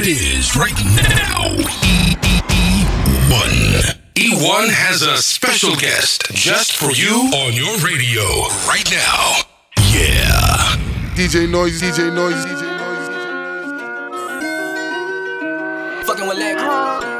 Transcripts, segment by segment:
it is right now. E1. E1 has a special guest just for you on your radio right now. Yeah. DJ Noise, DJ Noise, DJ Noise. Fucking with leg.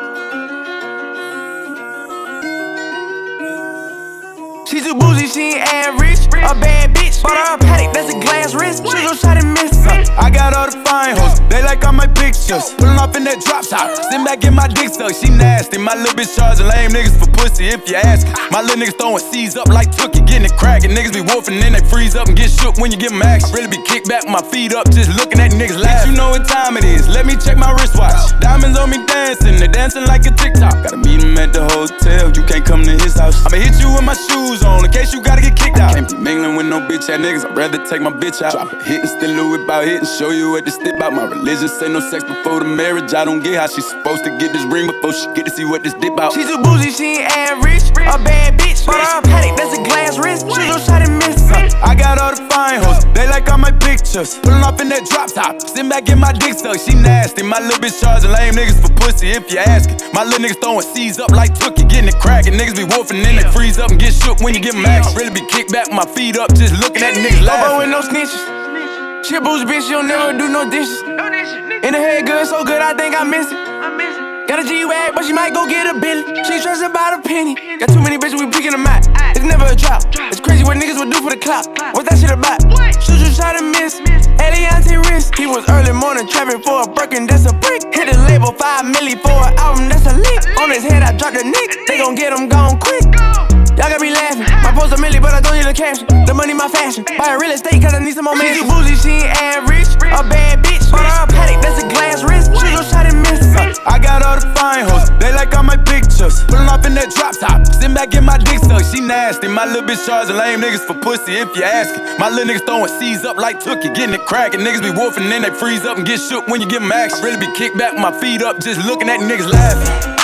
She too bougie, she ain't average. A bad bitch, bought her a paddock, that's a glass wrist. She gon' try to miss her. I got all the fine hoes, they like all my pictures. Pullin' off in that drop top, sitting back in my dick suck. She nasty, my little bitch charging lame niggas for pussy if you ask. My little niggas throwing C's up like Tookie, getting it crackin'. Niggas be wolfing and they freeze up and get shook when you give them action. I really be kicked back with my feet up, just looking at niggas laugh. You know what time it is, let me check my wristwatch. Diamonds on me dancing, they dancing like a TikTok. Gotta meet him at the hotel, you can't come to his house. I'ma hit you with my shoes on in case you gotta get kicked out. Can't be mingling with no bitch ass niggas, I'd rather take my bitch out. Drop a hit and still Louis about hit and show you what this stick about. My religion say no sex before the marriage. I don't get how she's supposed to get this ring before she get to see what this dip out. She's too bougie, she ain't average. A bad bitch, bought her a paddock, that's a glass wrist. She gon' try to miss her. I got all the fine hoes, they like all my pictures. Pullin' off in that drop top, sitting back in my dick suck. She nasty, my little bitch charging lame niggas for pussy if you ask it. My little niggas throwing C's up like Tookie, getting it crackin'. Niggas be wolfing and they freeze up and get shook when you give them action. Really be kicked back with my feet up, just looking at niggas laughing. With no snitches. She a bougie bitch, she don't never do no dishes. In the head good, so good, I think I miss it. Got a G-Wag, but she might go get a Billy. She stressed about a penny. Got too many bitches, we picking them out. It's never a drought. It's crazy what niggas would do for the clout. What's that shit about? Should you try to miss? Eliante wrist. He was early morning trapping for a Birkin, that's a brick. Hit the label 5 milli for an album, that's a leak. On his head, I dropped a nick. They gon' get him gone quick. Y'all got me laughing. My post a milli, but I don't need a caption. The money, my fashion. Buy a real estate, cause I need some more man. She too bougie, she ain't average. A bad bitch, bought her a paddock, that's a glass wrist. She gon' try to miss her. I got all the fine hoes, they like all my pictures. Pullin' off in that drop top, sitting back in my dick suck. She nasty, my little bitch charging lame niggas for pussy if you ask it. My little niggas throwing C's up like Tookie, getting it crackin'. Niggas be wolfing and they freeze up and get shook when you give them action. I really be kicked back with my feet up, just looking at niggas laughing.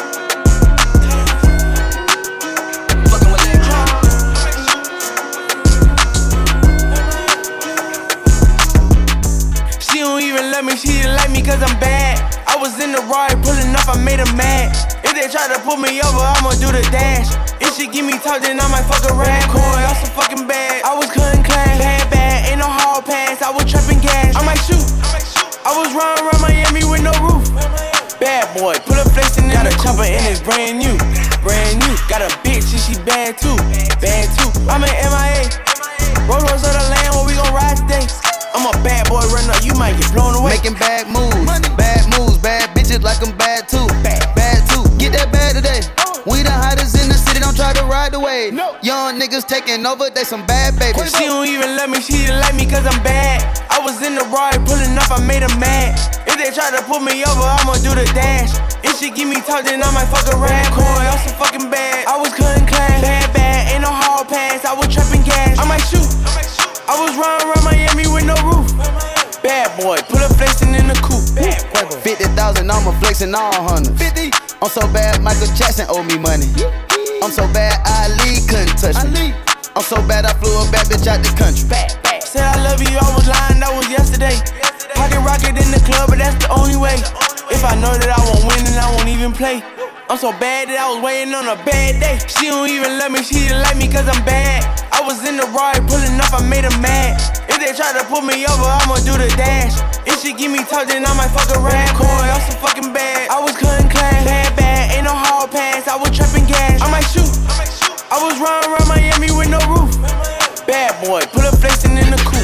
She didn't like me cause I'm bad. I was in the ride pulling up, I made her mad. If they try to pull me over, I'ma do the dash. If she give me talk, then I might fuck her rap. Coin, I'm so fucking bad. I was cutting class. Bad, ain't no hall pass. I was trapping gas. I might shoot. I was running around Miami with no roof. Bad boy, put a flexin' in the chopper and it's brand new. Brand new. Got a bitch and she bad too. Bad too. I'm an MIA. Rolls Royce of the land where we gon' ride today. I'm a bad boy runner, you might get blown away. Making bad moves, bad bitches like I'm bad too. Bad too, get that bad today. We the hottest in the city, don't try to ride the wave. Young niggas taking over, they some bad babies. She don't even love me, she didn't like me cause I'm bad. I was in the ride pulling up, I made her mad. If they try to pull me over, I'ma do the dash. If she give me talk, then I might fuck her rap. Coin, I'm so fucking bad. I was cutting class. Bad, ain't no hall pass. I was trapping gas. I might shoot. I was running around Miami with no roof. Bad boy, put a flexin' in the coupe. 50,000, I'm a flexin' all hundreds. 50. I'm so bad, Michael Jackson owe me money. I'm so bad, Ali couldn't touch me. I'm so bad, I flew a bad bitch out the country. Said I love you, I was lying, that was yesterday. Pocket rocket in the club, but that's the only way. If I know that I won't win, then I won't even play. I'm so bad that I was waiting on a bad day. She don't even love me, she didn't like me cause I'm bad. I was in the ride pulling up, I made her mad. If they try to pull me over, I'ma do the dash. If she give me talk, then I might fuck her rap. Coin, I'm so fucking bad. I was cutting class. Bad, ain't no hall pass. I was trapping gas. I might shoot. I was running around Miami with no roof. Bad boy, put a flexin' in the coupe.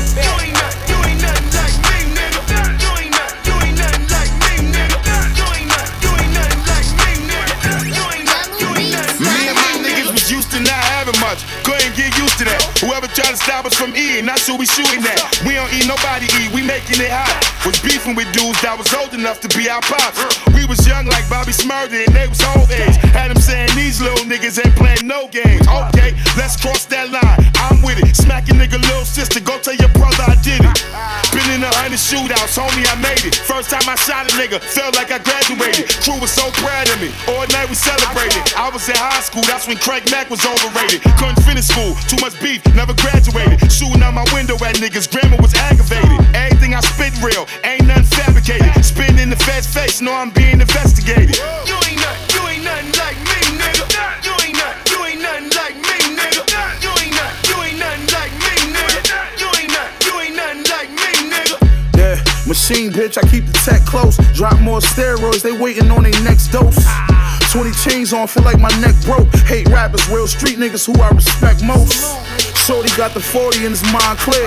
Couldn't get used to that. Whoever tried to stop us from eating, that's who we shooting at. We don't eat, nobody eat, we making it hot. Was beefing with dudes that was old enough to be our pops. We was young like Bobby Smurda and they was old age. Had them saying these little niggas ain't playing no games. Okay, let's cross that line, I'm with it. Smack a nigga little sister, go tell your brother I did it. Been in 100 shootouts, homie, I made it. First time I shot a nigga, felt like I graduated. Crew was so proud of me, all night we celebrated. I was in high school, that's when Craig Mack was overrated. Couldn't finish school, too much beef, never graduated. Shooting out my window at niggas, grammar was aggravated. Everything I spit real, ain't nothing fabricated. Spitting in the feds just know I'm being investigated. You ain't nothing like me, nigga. You ain't nothing like me, nigga. You ain't nothing like me, nigga. You ain't nothing like me, nigga. Yeah, machine bitch, I keep the tech close. Drop more steroids, they waiting on their next dose. 20 chains on, feel like my neck broke. Hate rappers, real street niggas who I respect most. Shorty got the 40 and his mind clear.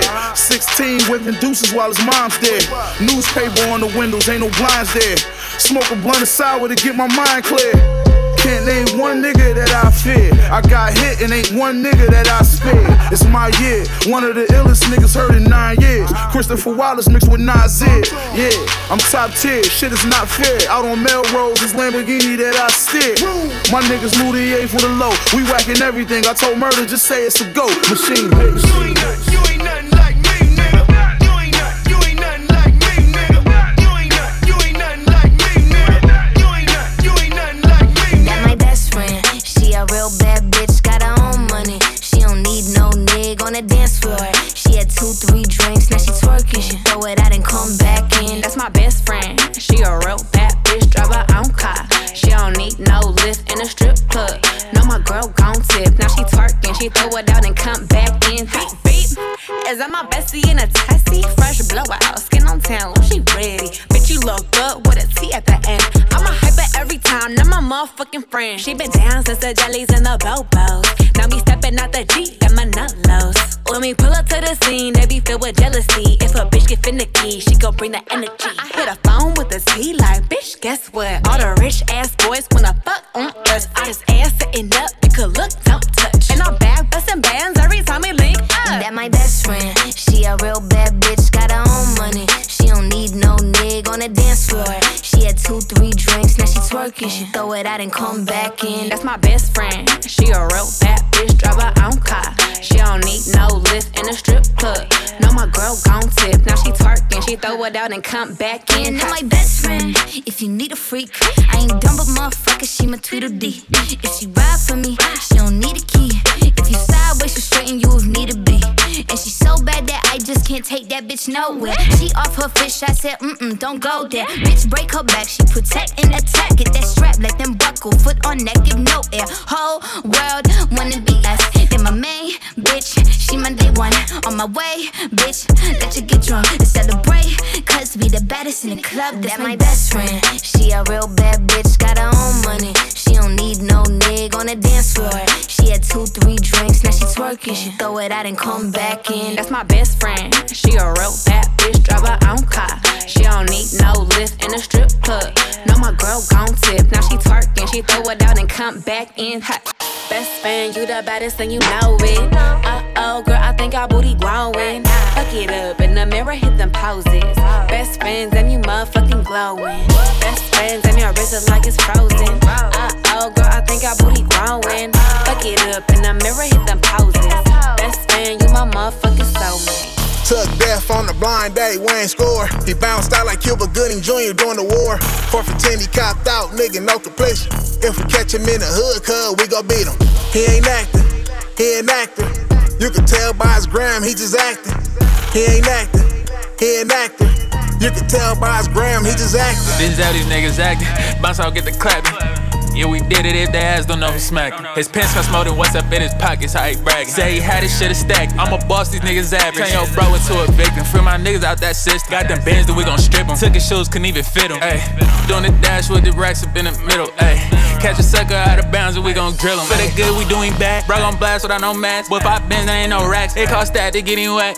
16 whipping deuces while his mom's dead. Newspaper on the windows, ain't no blinds there. Smoke a blunt of sour to get my mind clear. Can't name one nigga that I fear. I got hit and ain't one nigga that I spared. It's my year, one of the illest niggas heard in 9 years. Christopher Wallace mixed with Nasir. Yeah, I'm top tier, shit is not fair. Out on Melrose, this Lamborghini that I steer. My niggas Louis for the low. We whacking everything, I told Murder just say it's a go. Machine bitch. You ain't nothing like me, nigga. You ain't nothing like me, nigga. You ain't nothing like me, nigga. You ain't nothing like me, nigga. That my best friend, she a real bad bitch, got her own money. She don't need no nigga on the dance floor. She had 2-3 drinks, now she twerking. She throw it out and come back in. That's my best friend, she a real bad bitch, drive her own car. She don't need no lift in a strip club. No, my girl gon' tip, now she twerking. She throw it out and come back in. Beep, beep. Is that my bestie in a tessie? Fresh blowout, skin on town, she ready. Bitch, you look good with a T at the end. I'm a hyper every time, now my motherfucking friend. She been down since the jellies and the bobos. Now me stepping out the Jeep, got my nut lows. When we pull up to the scene, they be filled with jealousy. If a bitch get finicky, she gon' bring the energy. I hit a phone with a T like, bitch, guess what? All the rich ass boys wanna fuck on us. I just ass sitting up, you could look, don't touch. And I'm back bustin' bands every time we link up. That my best friend, she a real bad bitch, got her own money. She don't need no nigga on the dance floor. She had 2-3 drinks, now she twerking. She throw it out and come back in. That's my best friend, she a real bad bitch, drive her own car. She don't need no lift in a strip club. No, my girl gon' tip, now she twerking. She throw it out and come back in. That my best friend, if you need a freak, I ain't dumb but motherfucker, she my Tweedledee. If she ride for me, she don't need a key. If you sideways, she'll straighten you if need to be. And she so bad that I just can't take that bitch nowhere. She off her fish, I said, don't go there. Bitch, break her back, she protect and attack. Get that strap, let them buckle, foot on neck, give no air. Whole world wanna be us. Then my main bitch, she my day one. On my way, bitch, let you get drunk and celebrate. Cause we the baddest in the club, that's my best friend. She a real bad bitch, got her own money. She don't need no nigga on the dance floor. She had 2-3 drinks, now she twerking. She throw it out and come back in. That's my best friend, she a real bad bitch, drive her own car. She don't need no lift in a strip club. No, my girl gon' tip, now she twerking. She throw it out and come back in. Ha. Best friend, you the baddest and you know it. Uh-oh, girl, I think our booty growing. Fuck it up in the mirror, hit them poses. Best friends and you motherfucking glowing. Best friends and your wrist is like it's frozen. Uh-oh, girl, I think our booty growing. Fuck it up in the mirror, hit them poses. Best friend, you my motherfucking soulmate. Took death on the blind day, Wayne score. He bounced out like Cuba Gooding Jr. during the war. 4 for 10, he copped out, nigga, no completion. If we catch him in the hood, cuz we gon' beat him. He ain't acting, he an actor. You can tell by his gram, he just acting. He ain't acting, he an actor. You can tell by his gram, he just acting. This is how these niggas acting. Bounce out, get the clapping. Yeah, we did it if their ass don't know who smacking. His pants cost more than what's up in his pockets, how he bragging. Say he had his shit stacked. I'ma boss these niggas average. Turn your bro into a victim. Free my niggas out that system. Got them bands that we gon' strip them. Took his shoes, couldn't even fit them. Ayy, doing the dash with the racks up in the middle. Ayy, catch a sucker out of bounds and we gon' drill him. For the good, we doing bad. Bro gon' blast without no mask. With 5 bins, there ain't no racks. It cost that to get him wet.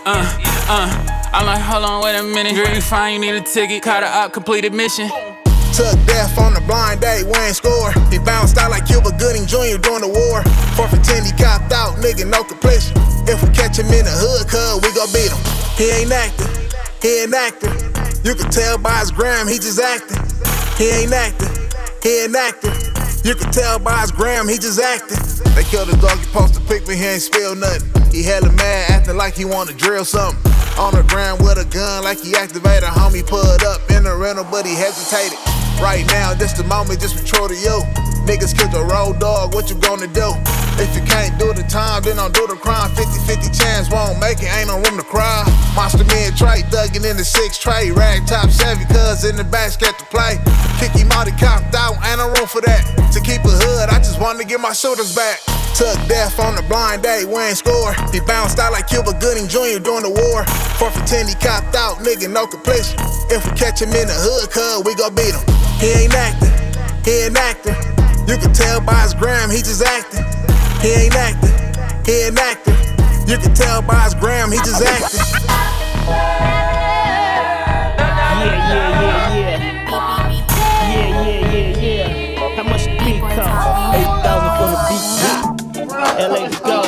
I'm like, hold on, wait a minute. Girl, you fine, you need a ticket. Caught her out, completed mission. Took death on the blind day, Wayne score. He bounced out like Cuba Gooding Jr. during the war. 4 for 10, he copped out, nigga, no completion. If we catch him in the hood, cuz we gon' beat him. He ain't acting, he an actor. You can tell by his gram, he just acting. He ain't acting, he an actor. You can tell by his gram, he just acting. They killed his dog, he posted a pic, but he ain't spill nothing. He hella mad, acting like he wanna drill something. On the ground with a gun, like he activated. Homie pulled up in the rental, but he hesitated. Right now, this the moment, just retro to you. Niggas killed your road dog, what you gonna do? If you can't do the time, then don't do the crime. 50-50 chance, won't make it, ain't no room to cry. Monster me and Trey, thuggin' in the 6 tray. Rag top Chevy, cuz in the back, scared to play. Kick him out, he copped out, ain't no room for that. To keep a hood, I just wanted to get my shooters back. Took death on the blind day, we ain't score. He bounced out like Cuba Gooding Jr. during the war. 4 for 10, he copped out, nigga, no completion. If we catch him in the hood, cuz we gon' beat him. He ain't acting, he ain't acting. You can tell by his gram, he just acting. He ain't acting, he ain't acting. You can tell by his gram, he just acting. Yeah. How much the beat cost? 8,000 for the beat. LA to go.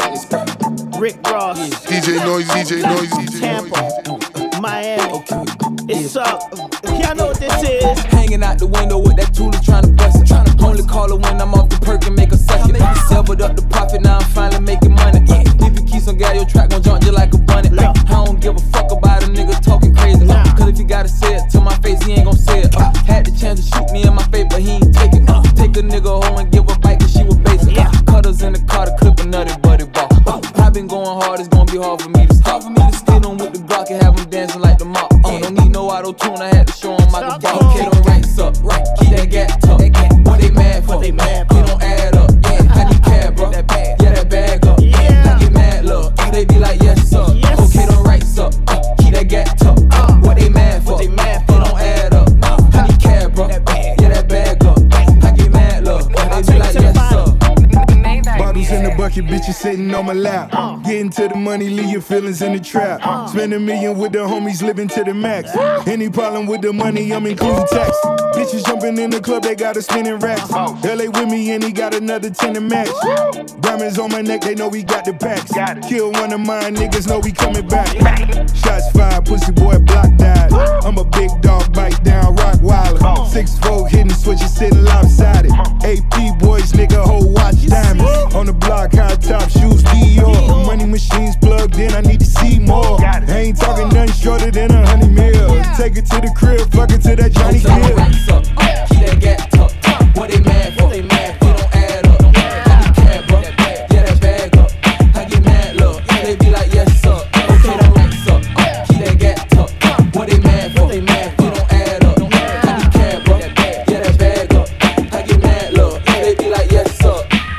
Rick Ross. DJ Noise. Tampa. Miami. It's up. Y'all know what this is. Hanging out the window with that Tula trying to bust it. Only call her when I'm off the perk and make her suck it. Severed up the profit, now I'm finally making money. If you keep some gal, your track gon' jump just like a bunny. I don't give a fuck about a nigga talking crazy. Cause if he gotta say it to my face, he ain't gon' say it. Had the chance to shoot me in my face, but he ain't take it. Take a nigga home and give a bite cause she was basic. Cutters in the car to clip a nutty buddy ball. I been going hard, it's gon' be hard for me to stop. For me to skid on with the Glock and have him dancing like the mop. Don't need no auto-tune, I had to show him I can ball. Okay, don't ranks up, right, keep that gap tucked. What they mad for? They don't add up, yeah, I need cab, bro. Yeah, that bag up, I get mad, look. They be like, yes, sir. Okay, don't ranks up, keep that gap tucked. What they mad for? They don't add up, I need cab, bro. Yeah, that bag up, I get mad, look. They be like, yes, sir. Bottles in the bucket, bitches sitting on my lap. Getting to the money, leave your feelings in the trap. Spend $1 million with the homies, living to the max. Any problem with the money, I'm including tax. Bitches jumping in the club, they got a spinning racks. LA with me and he got another 10 to match. Diamonds on my neck, they know we got the packs. Kill one of mine, niggas know we coming back. Shots fired, pussy boy block died. I'm a big dog, bite down, rock wilder. 6'4", hitting switches, sitting lopsided. AP boys, nigga, whole watch diamonds. On the block, high top shoes, Dior. Money machines plugged in, I need to see more. I ain't talking nothing shorter than 100 mil. Take it to the crib, fuck it to that Johnny Gill. Keep that gap tucked. What they mad for? They don't add up. I need cab, bro. Yeah, that bag up. I get mad, look. They be like, yes, sir. Okay, don't ranks up. Keep that gap tucked. What they mad for? They don't add up. I need cab, bro. Yeah, that bag up. I get mad, look. They be like, yes, sir.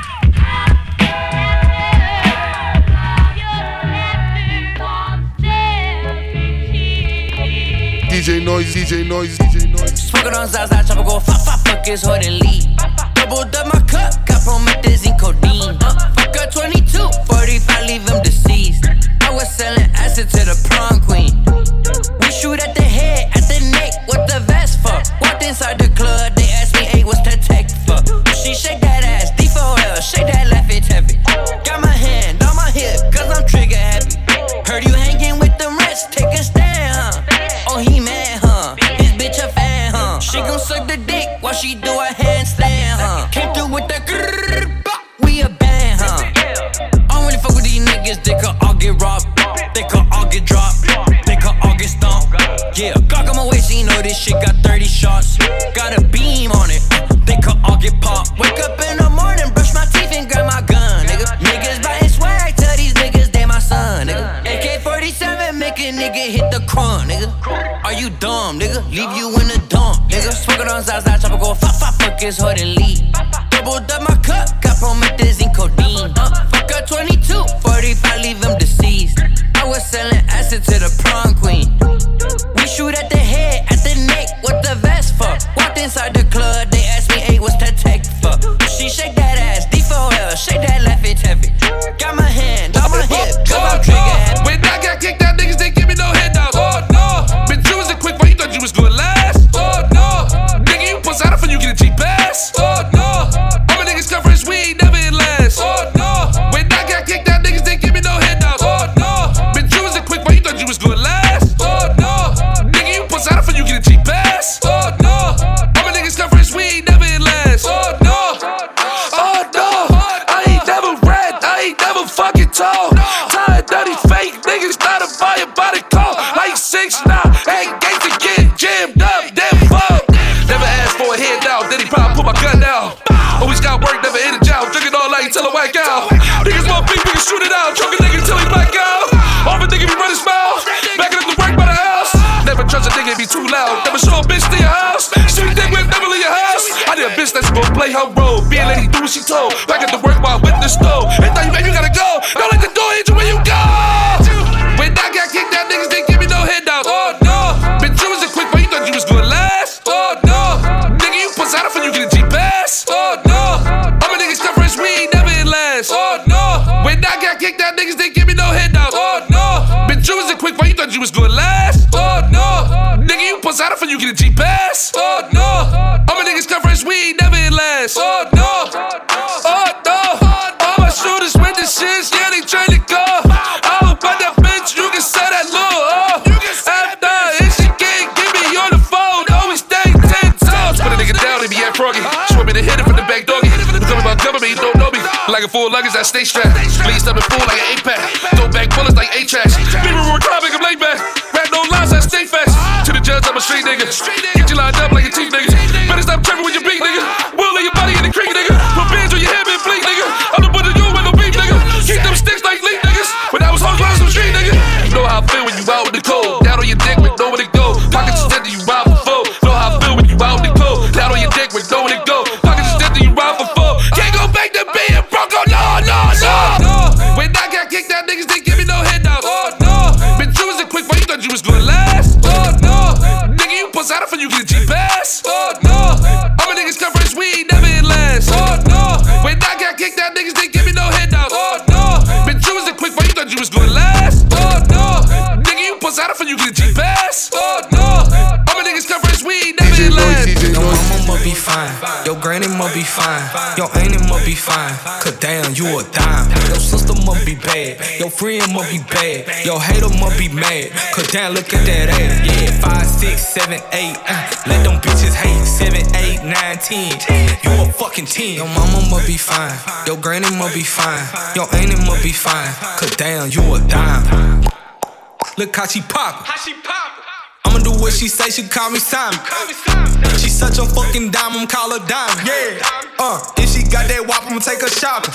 DJ Noise. Smoking on Zaza, chopper go fuck his hood and leave. Doubled up my cup, got promethazine, codeine. Fuck a 22, 45, leave him deceased. I was selling acid to the prom queen. We shoot at the head, at the neck, what the vest for? Walked inside the club, they asked me, hey, what's that tech for? She shake that ass, D4L, shake that left, it's heavy. Got my hand on my hip, cause I'm trigger happy. Heard you hanging with the rest, take a stand, huh? Oh, he mad, huh? His bitch a fan, huh? She gon' suck the dick while she do a handstand, huh? Came through with the grrrr, we a band, huh? I don't really fuck with these niggas, they could all get robbed. They could all get dropped, they could all get stomped. Yeah, Glock on my waist, so you know this shit got 30 shots. Got a beam on it, they could all get popped. Wake up in the morning, brush my teeth and grab my gun, nigga. Niggas buying swag, tell these niggas they my son, nigga. AK-47 make a nigga hit the crunk, nigga. Are you dumb, nigga? Leave you in the dump, nigga. Smoking on Zaza, chopper go fuck his hood and leave. Doubled up my cup, got promethazine, codeine. Fuck a 22, 45, leave him deceased. I was selling acid to the prom queen. We shoot at the head, at the neck, what the vest for? Walked inside the club, they asked me, hey, what's that tech for? She shake that ass, D4L, shake that left, it's heavy. Got my hand on my hip, cause I'm trigger happy. When I got kicked out, niggas didn't give me no handouts. Oh no, been choosing quick, but you thought you was gonna last. Oh no, nigga, you puss out for you get a cheap ass. Oh no, all my niggas come fresh, we ain't never in last. Oh no, when I got kicked out, niggas didn't give me no handouts. Oh no, been choosing quick, but you thought you was gonna last. Oh Never show a bitch to your house. She think we'll never leave your house. I need a bitch that's gon' play her role. Be a lady, do what she told. Back at the work while with the stove. And thought you, baby, you gotta go. Don't let the door hit you when you go. When I got kicked out, niggas didn't give me no handouts. Oh no, bitch, you was a quick one. You thought you was gonna last. Oh no, nigga, you puss out for you get a G-Pass. Oh no, all my niggas come fresh, we ain't never in last. Oh no, when I got kicked out, niggas didn't give me no handouts. Oh no, bitch, you was a quick one. You thought you was gonna last. Oh no, nigga, you puss out for you get a G-Pass. Oh no, all my niggas come fresh, we ain't never in last. Oh no, oh no, all my shooters with the shits, yeah, they tryna go. I'm about that bitch, you can say that low. After if she can't get me on the phone, always stay 10 toes. Put a nigga down, they be at froggy. She want me to hit it from the back doggy. You coming about government, you don't know me. Like a full luggage, I stay strapped. Bleed up and full like an 8-pack. Throw back bullets like 8-tracks. People were crying, make 'em lay back. Rap no lies, I stay fast. To the judge, I'm a street nigga. Get you lined up like a teeth nigga. Better stop tripping with your beat nigga. Will in your body in the creek nigga. Put bands on your head, man, bleak nigga. I'm the one of you with no beef nigga. Keep them sticks like leak niggas. When I was home, some street nigga. You know how I feel when you out in the cold. Down on your dick with nowhere to go. Pockets extended, you ride for four. Know how I feel when you out in the cold. Down on your dick with nowhere to go. Pockets extended, you ride for four. Can't go back to being broke, oh no, no, no. When I got kicked out, niggas didn't give me no handouts. Oh no, bitch, you was a quick one, you thought you was gonna last. Oh no, nigga, you puss out for you get a G-Pass. Oh no, all my niggas come fresh, we ain't never in last. Oh no, when I got kicked out, niggas didn't give me no handouts. Oh no, bitch, you was a quick one, you thought you was gonna last. Oh no, nigga, you puss out for you get a G-Pass. Oh no, all my niggas come fresh, we ain't never in last. Your mama must be fine, your granny must be fine, your auntie must be fine, cause damn, you a dime. Your sister must be bad, your friend must be bad, your hater must be mad, cause damn, look at that ass. Yeah, 5, 6, 7, 8, let them bitches hate. 7, 8, 9, 10, you a fucking 10. Your mama must be fine, your granny must be fine, your auntie must be fine, cause damn, you a dime. Look how she poppin'. I'ma do what she say, she call me Simon. She such a fucking diamond, call her diamond. Yeah, if she got that wop, I'ma take her shopping.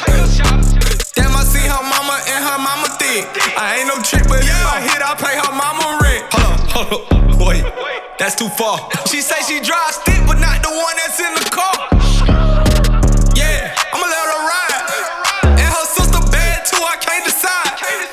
Damn, I see her mama and her mama thick. I ain't no trick, but if I hit, I pay her mama rent. Hold up, wait, that's too far. She say she drive stick, but not the one that's in the car. Yeah, I'ma let her ride. And her sister bad too, I can't decide.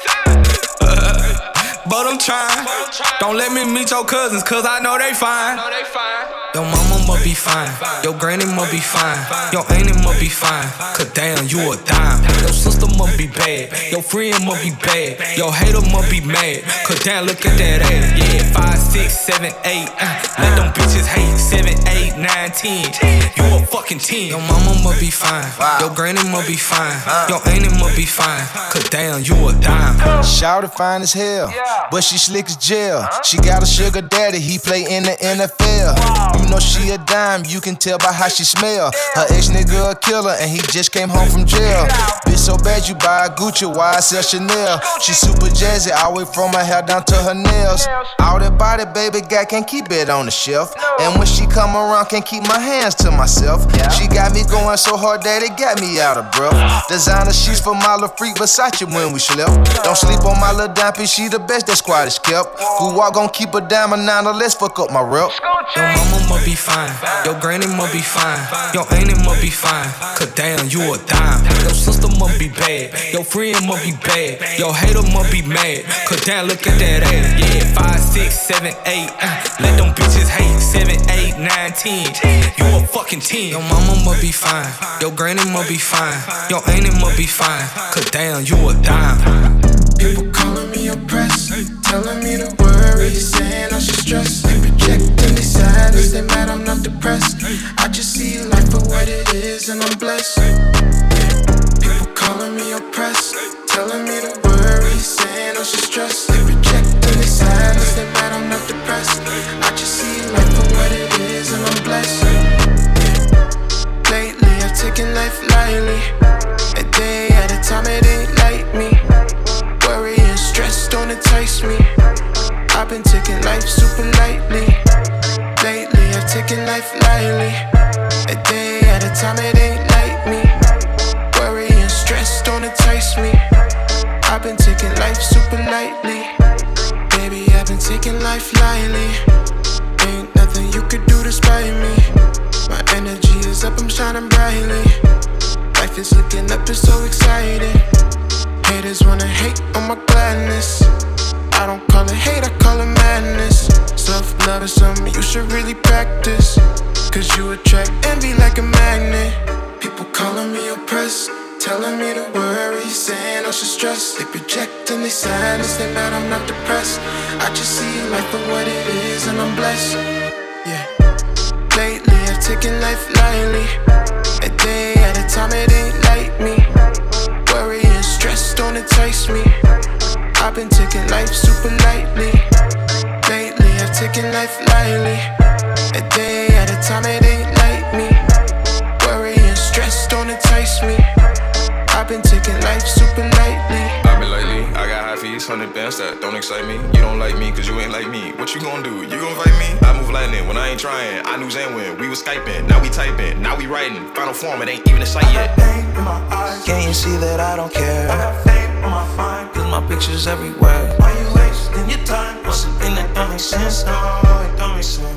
But I'm trying. Don't let me meet your cousins, cause I know they fine. Your mama must be fine, your granny must be fine, your auntie must be fine, cause damn, you a dime. Your sister must be bad, your friend must be bad, your hater must be mad, cause damn, look at that ass. Yeah, 5, 6, 7, 8, let them bitches hate. 7, 8, 9, 10, you a fucking 10. Your mama must be fine, your granny must be fine, your auntie must be fine, cause damn, you a dime. Shawty fine as hell, but she slick as jail. She got a sugar daddy, he play in the NFL. You know she a dime, you can tell by how she smell. Her ex-nigga a killer, and he just came home from jail. Bitch so bad you buy a Gucci, why I sell Chanel? She super jazzy, all the way from her hair down to her nails. All that body, baby, guy can't keep it on the shelf. And when she come around, can't keep my hands to myself. She got me going so hard that it got me out of breath. Designer sheets for my little freak Versace when we slept. Don't sleep on my little dime piece, she the best that squad is kept. Who walk gon' keep a diamond now, let's fuck up my rep. Your mama must be fine, your granny must be fine, your auntie must be fine, cause damn, you a dime. Your sister must be bad, your friend must be bad, your hater must be mad, cause damn, look at that ass. Yeah, 5, 6, 7, 8, let them bitches hate. 7, 8, 9, 10, you a fucking 10. Your mama must be fine, your granny must be fine, your auntie must be fine, cause damn, you a dime. People calling me oppressed, telling me to worry, saying I should stress. They projecting they sadness, they mad I'm not depressed. I just see life for what it is and I'm blessed. People calling me oppressed, telling me to worry, saying I should stress. They projecting they sadness, they mad I'm not depressed. I just see life for what it is and I'm blessed. Lately I've taken life lightly, a day at a time it ain't like me. Worry and stress don't entice me. I've been taking life super lightly. Lately I've taken life lightly, a day at a time it ain't like me. Worry and stress don't entice me. I've been taking life super lightly. Baby, I've been taking life lightly. Ain't spite me. My energy is up, I'm shining brightly. Life is looking up, it's so exciting. Haters wanna hate on my gladness. I don't call it hate, I call it madness. Self-love is something you should really practice, cause you attract envy like a magnet. People calling me oppressed, telling me to worry, saying I should stress. They project and they silence, they mad I'm not depressed. I just see life for what it is and I'm blessed. Yeah. Lately I've taken life lightly. A day at a time, it ain't like me. Worry and stress don't entice me. I've been taking life super lightly. Lately I've taken life lightly. A day at a time, it ain't like me. Worry and stress don't entice me. I've been taking life super lightly. I've been lately, I got high fees, 100 bands that don't excite me. You don't like me cause you ain't like me. What you gon' do? You gon' fight me? I move lightning when I ain't trying. I knew Zan when we was Skyping. Now we typing, now we writing. Final form, it ain't even a sight yet. Can you see that I don't care? I got fame on my mind, cause my pictures everywhere. Why you wasting your time? What's something that don't make sense? No, it don't make sense.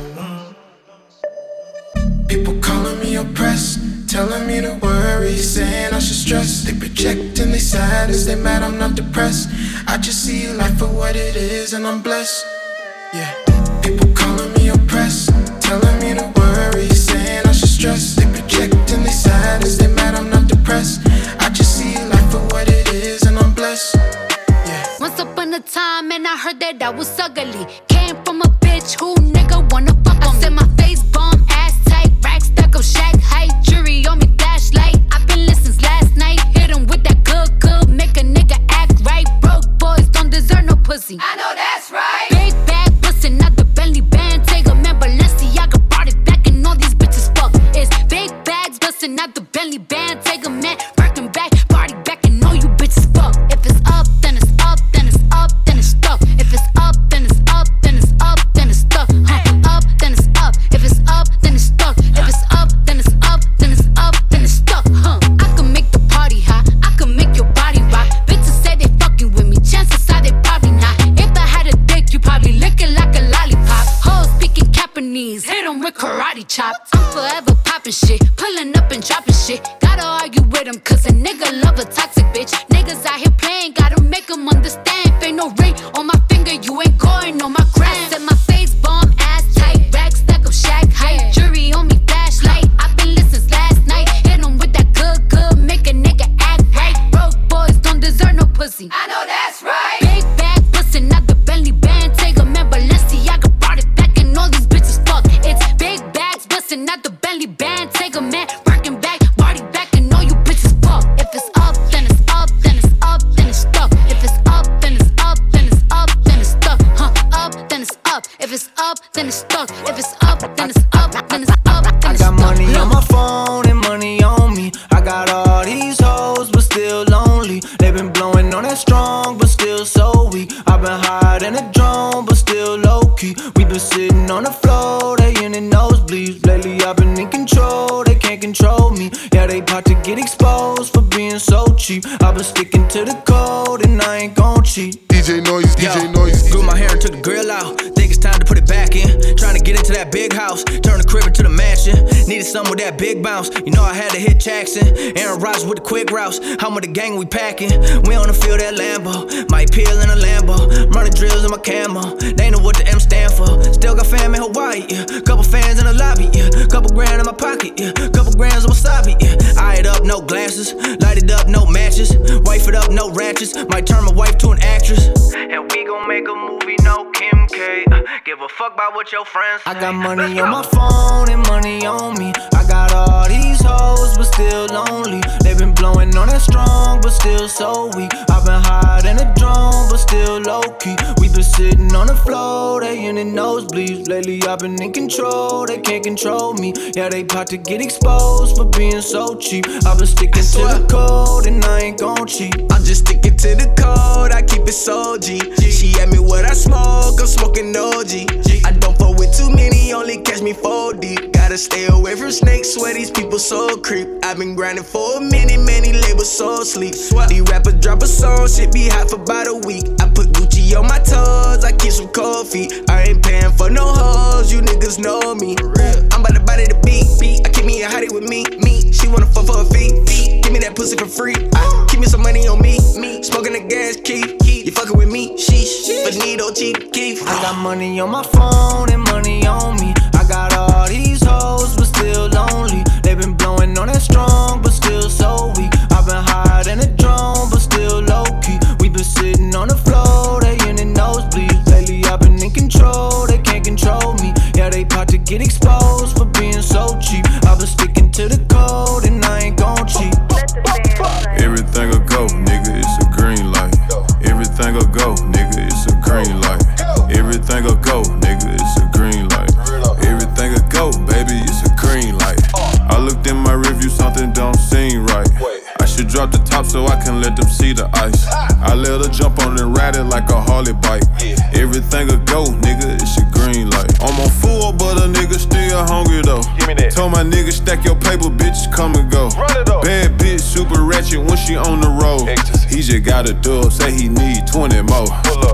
People calling me oppressed, telling me to worry, saying I should stress. They project and they silence, they mad I'm not depressed. I just see life for what it is and I'm blessed. Yeah. People calling me oppressed, telling me to worry, saying I should stress. They project and they silence, they mad I'm not depressed. I just see life for what it is and I'm blessed. Yeah. Once upon a time and I heard that I was ugly. Came from a bitch who nigga wanna fuck on me. I said my face bomb, ass tight, rack stuck up, shack height, jury on me, flashlight. I've been listening since last night. Hit him with that good, make a nigga act right. Broke boys don't deserve no pussy. I know that's right. Big bag bustin' out the Bentley band. Take a man, Balenciaga brought it back and all these bitches fuck. It's big bags bustin' out the Bentley band. Take a man, Birkin back, party back and all you bitches fuck. If it's up, then it's up, then it's up, then it's stuck. If it's up, then it's up, then it's up, then it's stuck. Up, then it's up. If it's up, then it's stuck. If it's up, then it's up, then it's up, then it's stuck. I can make the party hot, I can make your body rock. Bitches say they fucking with me, chances are they probably not. If I had a dick, you probably lick it like a lollipop. Hoes speaking Japanese, hit 'em with karate chops. I'm forever popping shit, pulling up and dropping shit. Gotta argue with 'em cause a nigga love a toxic bitch. Niggas out here playing, gotta make 'em understand. If ain't no ring on my finger, you ain't going on my gram. Set my face bomb, ass tight, rack stack up, shack height, jury on me, flashlight. I've been listening since last night. Hit 'em with that good, make a nigga act right. Broke boys don't deserve no pussy. I know that's right. Big bag bustin' out the Bentley band. Take a man, Balenciaga brought it back and all these bitches fuck. It's big bags bustin' out the Bentley band. Take a man, Birkin back, party back and all you bitches fuck. If it's up, then it's up, then it's up, then it's stuck. If it's up, then it's up, then it's up, then it's stuck. Up, then it's up. If it's up, then it's stuck. If it's up, then it's up, then it's up, then it's stuck. I got money on my phone and money on me. I got all these hoes, but still lonely. They been blowing on that strong, but still so weak. I've been higher than a drone, but still low key. We been sitting on the floor, they in the nosebleeds. Lately I've been in control, they can't control me. Yeah, they about to get exposed for being so cheap. I've been sticking to the code and I ain't gon' cheat. DJ Noise, DJ Noise. Grew my hair and took the grill out. Think it's time to put it back in. Trying to get into that big house, turn the crib into the mansion. Needed something with that big bounce. You know I had to hit Jackson. Aaron Rodgers with the quick routes. How much the gang we packing? We on the field at Lambo. Might peel in a Lambo. Running drills in my camo. They know what the M stand for. Still got fam in Hawaii, yeah. Couple fans in the lobby, yeah. Couple grand in my pocket, yeah. Couple grams of wasabi, yeah. Eye it up, no glasses. Light it up, no matches. Wife it up, no ratchets. Might turn my wife to an actress. And we gon' make a movie, no Kim K. Give a fuck about what your friends say. I got money on my phone and money on me. I got all these hoes, but still lonely. They been blowing on that strong, but still so weak. I've been higher than a drone, but still low key. We been sitting on the floor, they in the nosebleeds. Lately I've been in control, they can't control me. Yeah, they bout to get exposed for being so cheap. I've been sticking to the code and I ain't gon' cheat. I'm just sticking to the code, I keep it so G. She asked me what I smoke, I'm smoking OG. I don't fuck with too many, only catch me 4 deep. Gotta stay away from snakes, swear these people so creep. I've been grinding for a minute, many labels so sleep. These rappers drop a song, shit be hot for about a week. I put Gucci on my toes, I keep some cold feet. I ain't paying for no hoes, you niggas know me. pussy for free. Keep me some money on me. Smoking the gas, keep. You fucking with me, sheesh. Bonito, cheap, keep. I got money on my phone and money on me. I got all these hoes, but still lonely. They been blowing on that strong, but still so weak. I've been higher than a drone, but still low key. We been sitting on the floor, they in the nosebleeds. Lately I've been in control, they can't control me. Yeah, they about to get exposed for being so cheap. I've been sticking to the code and I ain't gon' cheat. Everything will go, nigga, it's a green light. Everything will go, nigga, it's a green light. Everything will go, nigga, it's a green light. Everything will go, baby, it's a green light. I looked in my review, something don't seem right. I should drop the top so I can let them see the ice. I let her jump on and ride it like a Harley bike. Everything will go, nigga, it's a green light. I'm on full, but a nigga still hungry though. Told my nigga stack your paper, bitch, come and go. Bad bitch, super ratchet when she on the road. He just got a dub, say he need 20 more.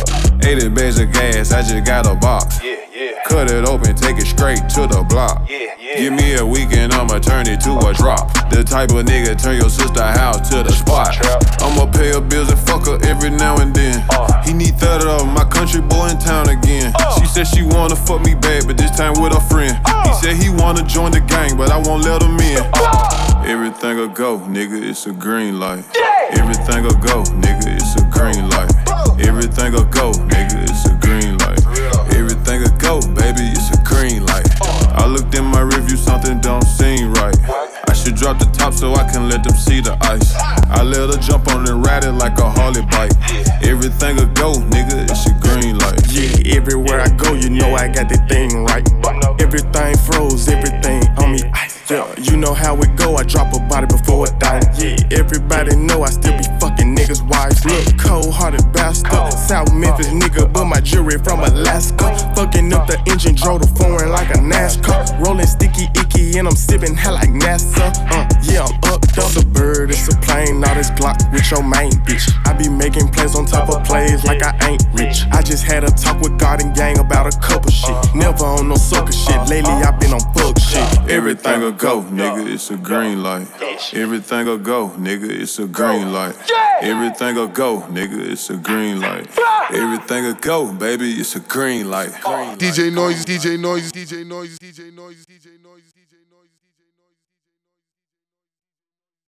80 bags of gas, I just got a box. Cut it open, take it straight to the block. Give me a weekend, I'ma turn it to a drop. The type of nigga turn your sister house to the spot. I'ma pay her bills and fuck her every now and then. He need 30 of my country boy in town again. She said she wanna fuck me bad, but this time with a friend. He said he wanna join the gang, but I won't let him in. Everything will go, nigga, it's a green light. Everything will go, nigga, it's a green light. Everything will go, nigga, it's a green light. Everything will go, baby, it's a green light. I looked in my review, something don't seem right. I should drop the top so I can let them see the ice. I let her jump on and ride it like a Harley bike. Everything will go, nigga, it's a green light. Yeah, everywhere I go, you know I got that thing right. Everything froze, everything on me ice. Yeah, you know how it go, I drop a body before it die. Yeah, everybody know I still be fucking niggas' wives. Look, cold-hearted bastard, South Memphis nigga, but my jewelry from Alaska. Fucking up the engine, drove the foreign like a NASCAR. Rolling sticky icky and I'm sipping hell like NASA. Yeah, I'm up, it's a bird, it's a plane, now this Glock with your main bitch. I be making plays on top of plays like I ain't rich. I just had a talk with God and gang about a couple shit. Never on no sucker shit, lately I been on bug shit. Everything will go, nigga, it's a green light. Everything will go, nigga, it's a green light. Everything will go, nigga, it's a green light. Everything will go, baby, it's a green light. DJ Noise, DJ Noise, DJ Noise, DJ Noise, DJ Noise.